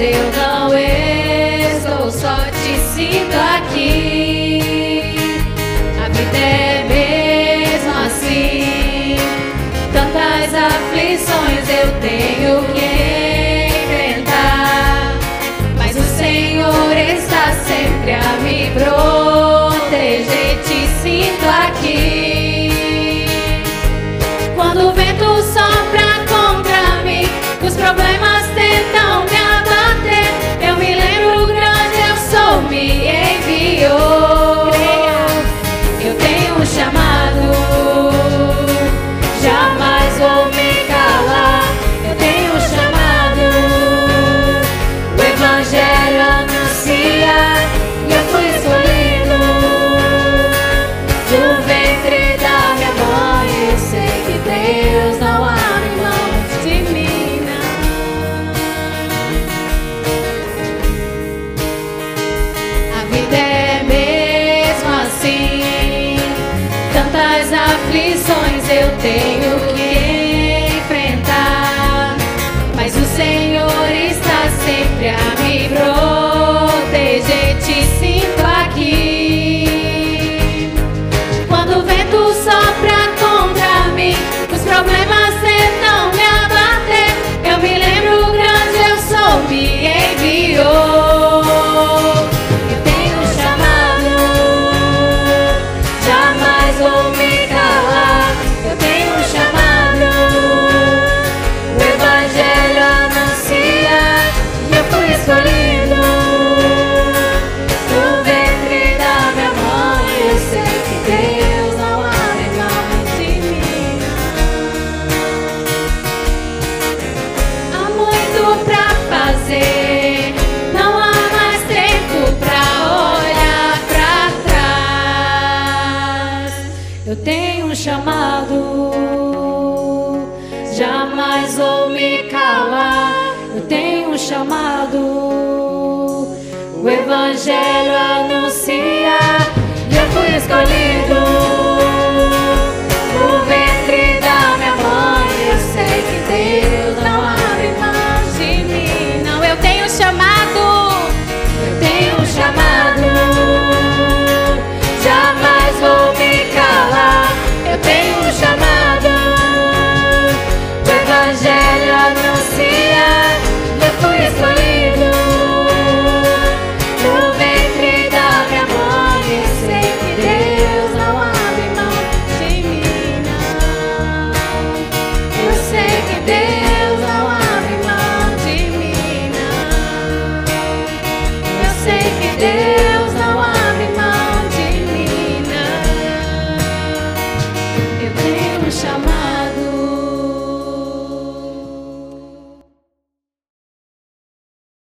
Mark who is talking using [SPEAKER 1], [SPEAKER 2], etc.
[SPEAKER 1] eu não estou só, te sinto aqui. A vida é mesmo assim, tantas aflições eu tenho que enfrentar, mas o Senhor está sempre a me proteger, te sinto aqui. Quando o vento sopra contra mim, os problemas tentam me abater, eu me lembro grande eu sou, me enviou. Eu tenho um chamado, jamais vou me calar. Eu tenho um chamado, o Evangelho anuncia, e eu fui escolhido do ventre da minha mãe. Eu sei que Deus não abre mão de mim, não. A vida é mesmo assim, tantas aflições eu tenho que enfrentar, mas o Senhor está sempre a me proteger, te sinto aqui. Quando o vento sopra contra mim, os problemas tentam me abater, eu me lembro grande eu sou, me enviou. Eu tenho um chamado, jamais vou me calar. Eu tenho um chamado, o Evangelho anuncia, e eu fui escolhido do ventre da minha mãe. Eu sei que Deus não abre mão de mim. Há muito pra fazer, não há mais tempo pra olhar pra trás. Eu tenho um chamado, jamais vou me calar. Eu tenho um chamado, o Evangelho anuncia, e eu fui escolhido do ventre da minha mãe. Eu sei que Deus não abre mão de mim, não. Eu tenho um chamado, eu tenho um chamado, jamais vou me calar. Eu tenho um chamado, o Evangelho anuncia, eu fui escolhido